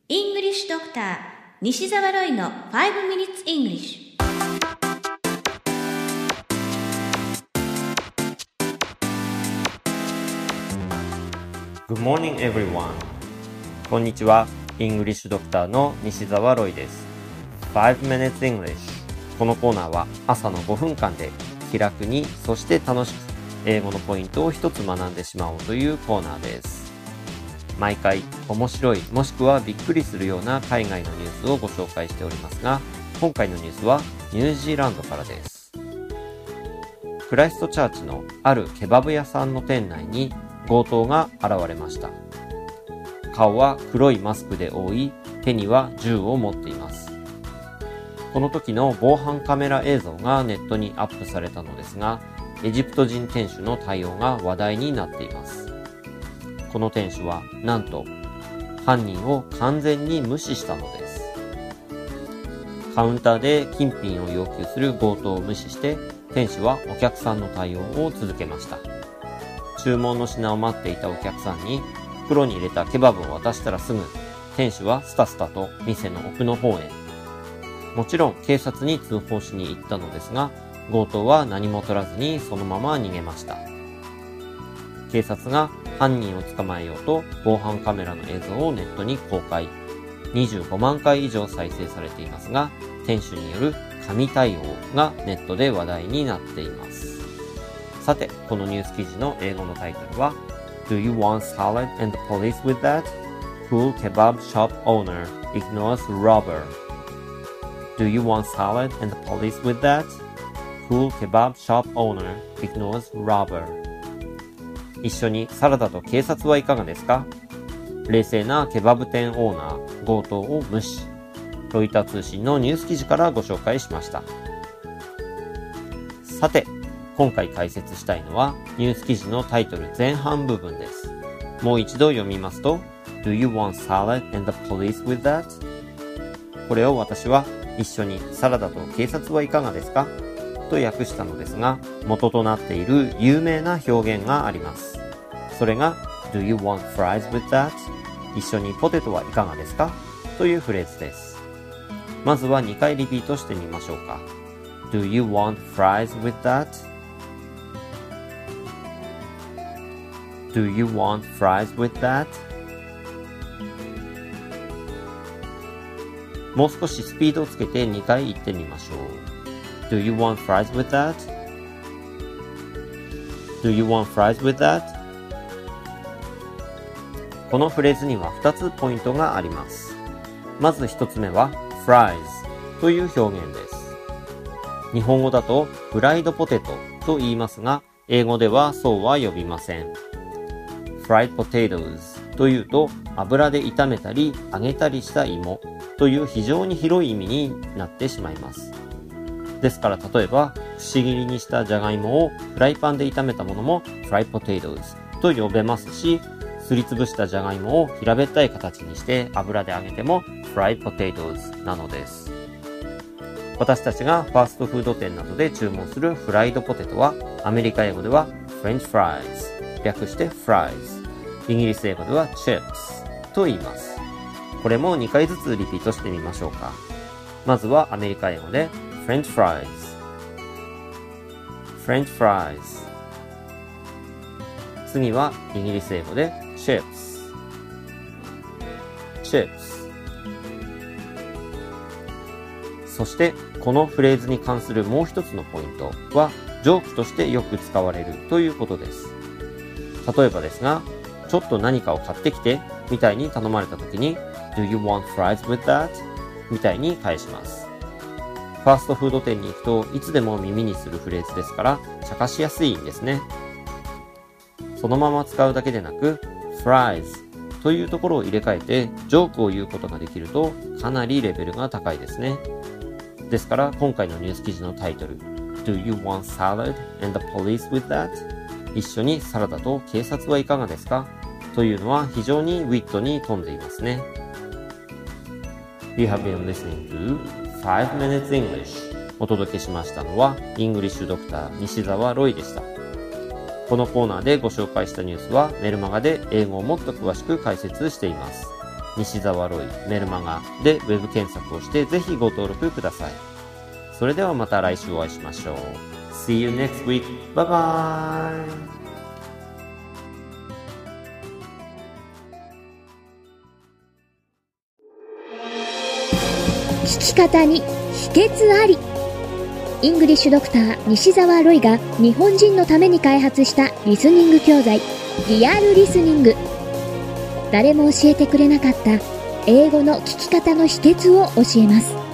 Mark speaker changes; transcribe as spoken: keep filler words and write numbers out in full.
Speaker 1: English Doctor 西澤ロイのファイブ Minutes English。
Speaker 2: Good morning everyone. こんにちは。English Doctor の西澤ロイです。ファイブ Minutes English。このコーナーは朝のごふんかんで気楽に、そして楽しく英語のポイントを一つ学んでしまおうというコーナーです。毎回面白いもしくはびっくりするような海外のニュースをご紹介しておりますが、今回のニュースはニュージーランドからです。クライストチャーチのあるケバブ屋さんの店内に強盗が現れました。顔は黒いマスクで覆い、手には銃を持っています。この時の防犯カメラ映像がネットにアップされたのですが、エジプト人店主の対応が話題になっています。この店主はなんと犯人を完全に無視したのです。カウンターで金品を要求する強盗を無視して、店主はお客さんの対応を続けました。注文の品を待っていたお客さんに袋に入れたケバブを渡したらすぐ、店主はスタスタと店の奥の方へ。もちろん警察に通報しに行ったのですが、強盗は何も取らずにそのまま逃げました。警察が犯人を捕まえようと防犯カメラの映像をネットに公開。にじゅうごまんかい以上再生されていますが、店主による神対応がネットで話題になっています。さて、このニュース記事の英語のタイトルは Do you want salad and the police with that? Cool kebab shop owner ignores robber. Do you want salad and the police with that? Cool kebab shop owner ignores robber. 一緒にサラダと警察はいかがですか？冷静なケバブ店オーナー、強盗を無視。ロイター通信のニュース記事からご紹介しました。さて、今回解説したいのはニュース記事のタイトル前半部分です。もう一度読みますと Do you want salad and the police with that? これを私は一緒にサラダと警察はいかがですかと訳したのですが、元となっている有名な表現があります。それが Do you want fries with that? 一緒にポテトはいかがですかというフレーズです。まずはにかいリピートしてみましょうか。Do you want fries with that? Do you want fries with that? もう少しスピードをつけてにかい言ってみましょう。Do you want fries with that? Do you want fries with that? このフレーズにはふたつポイントがあります。まずひとつめは fries という表現です。日本語だとフライドポテトと言いますが、英語ではそうは呼びません。fried potatoes というと油で炒めたり揚げたりした芋という非常に広い意味になってしまいます。ですから例えば、くし切りにしたじゃがいもをフライパンで炒めたものも fried potatoes と呼べますし、すりつぶしたじゃがいもを平べったい形にして油で揚げても fried potatoes なのです。私たちがファーストフード店などで注文するフライドポテトは、アメリカ英語では French fries、略して fries、イギリス英語では chips と言います。これもにかいずつリピートしてみましょうか。まずはアメリカ英語でFrench fries, French fries。次はイギリス英語で chips, chips。そしてこのフレーズに関するもう一つのポイントは、ジョークとしてよく使われるということです。例えばですが、ちょっと何かを買ってきてみたいに頼まれた時に Do you want fries with that? みたいに返します。ファーストフード店に行くといつでも耳にするフレーズですから、茶化しやすいんですね。そのまま使うだけでなく fries というところを入れ替えてジョークを言うことができると、かなりレベルが高いですね。ですから今回のニュース記事のタイトル Do you want salad and the police with that? 一緒にサラダと警察はいかがですかというのは非常にウィットに富んでいますね。You have been listening toファイブ Minutes English。 お届けしましたのはイングリッシュドクター西澤ロイでした。このコーナーでご紹介したニュースはメルマガで英語をもっと詳しく解説しています。 西澤ロイメルマガでウェブ検索をしてぜひご登録ください。それではまた来週お会いしましょう。See you next week. Bye bye.
Speaker 3: 聞き方に秘訣あり。イングリッシュドクター西澤ロイが日本人のために開発したリスニング教材リアルリスニング。誰も教えてくれなかった英語の聞き方の秘訣を教えます。